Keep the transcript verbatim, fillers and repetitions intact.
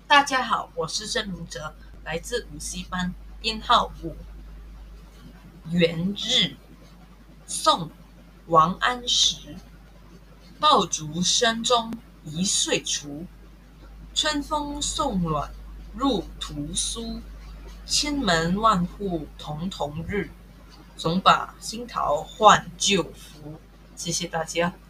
大家好，我是郑明哲，来自五 C 班，编号五。元日，宋，王安石。爆竹声中一岁除，春风送暖入屠苏。千门万户曈曈日，总把新桃换旧符。谢谢大家。